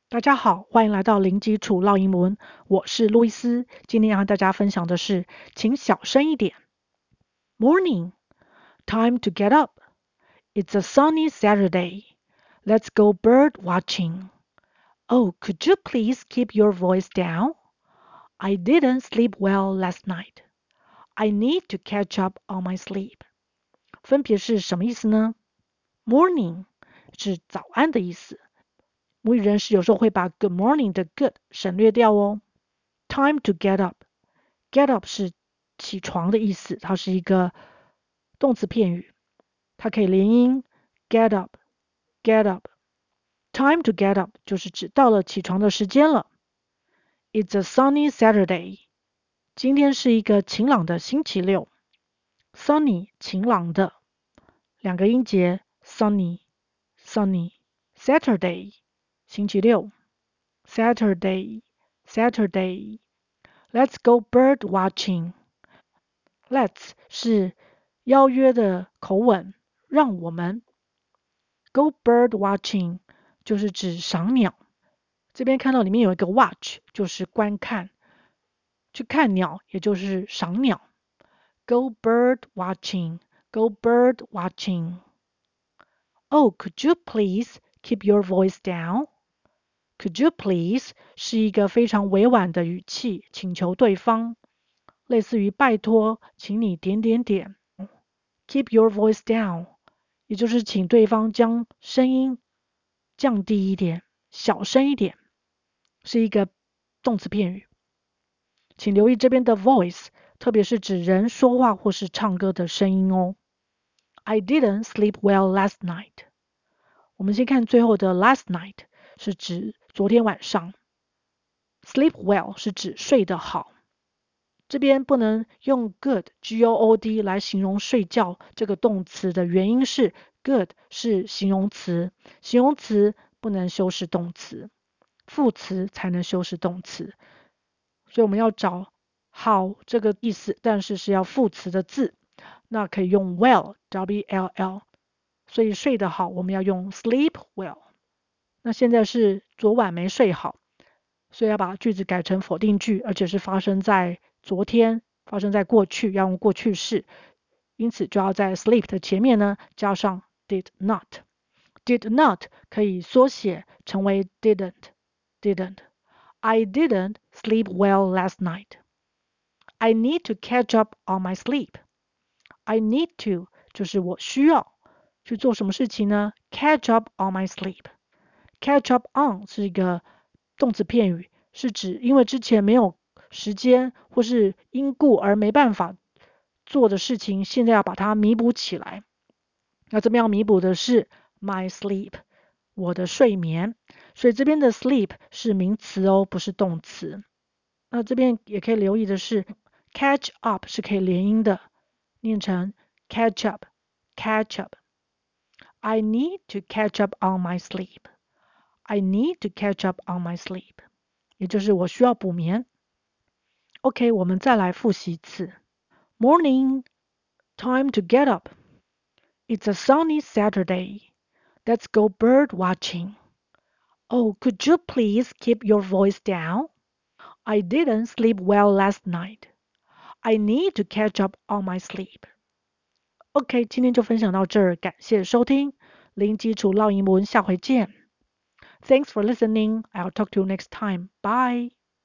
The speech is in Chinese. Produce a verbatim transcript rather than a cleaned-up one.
大家好，歡迎來到零基礎烙英文，我是路易斯。今天要和大家分享的是，請小聲一點。Morning, time to get up. It's a sunny Saturday. Let's go bird watching. Oh, could you please keep your voice down? I didn't sleep well last night. I need to catch up on my sleep. 分別是什麼意思呢？ Morning 是早安的意思。母語人士有時候會把 good morning 的 good 省略掉哦。Time to get up. Get up 是起床的意思，它是一個動詞片語，它可以連音 get up, get up. Time to get up 就是指到了起床的時間了。It's a sunny Saturday. 今天是一個晴朗的星期六。Sunny 晴朗的，兩個音節 sunny, sunny. Saturday 星期六 Saturday, Saturday. Let's go bird watching. Let's 是邀約的口吻，讓我們 go bird watching 就是指賞鳥。這邊看到裡面有一個 watch 就是觀看，去看鳥也就是賞鳥。Go bird watching, go bird watching. Oh, could you please keep your voice down? Could you please 是一個非常委婉的語氣，請求對方，類似於拜託，請你點點點。Keep your voice down 也就是請對方將聲音降低一點，小聲一點，是一個動詞片語。請留意這邊的 voice， 特別是指人說話或是唱歌的聲音哦。I didn't sleep well last night. 我們先看最後的 last night 是指昨天晚上。Sleep well 是指睡得好。這邊不能用 good, G O O D 來形容睡覺這個動詞的原因是 good 是形容詞，形容詞不能修飾動詞，副詞才能修飾動詞。所以我們要找好這個意思，但是是要副詞的字，那可以用 well, W L L。所以睡得好，我們要用 sleep well。那現在是昨晚沒睡好，所以要把句子改成否定句，而且是發生在昨天，發生在過去，要用過去式。因此就要在 sleep 的前面呢加上 did not。 did not 可以縮寫成為 didn't, didn't. I didn't sleep well last night. I need to catch up on my sleep. I need to 就是我需要去做什麼事情呢？ Catch up on my sleep. Catch up on 是一個動詞片語，是指因為之前沒有時間或是因故而沒辦法做的事情，現在要把它彌補起來。那這邊要彌補的是 my sleep, 我的睡眠。所以這邊的 sleep 是名詞哦，不是動詞。那這邊也可以留意的是 catch up 是可以連音的，念成 catch up, catch up. I need to catch up on my sleep. I need to catch up on my sleep. 也就是我需要補眠。OK, 我們再來複習一次。Morning, time to get up. It's a sunny Saturday. Let's go bird watching. Oh, could you please keep your voice down? I didn't sleep well last night. I need to catch up on my sleep. OK, 今天就分享到這兒，感謝收聽，零基礎烙英文，下回見。Thanks for listening. I'll talk to you next time. Bye.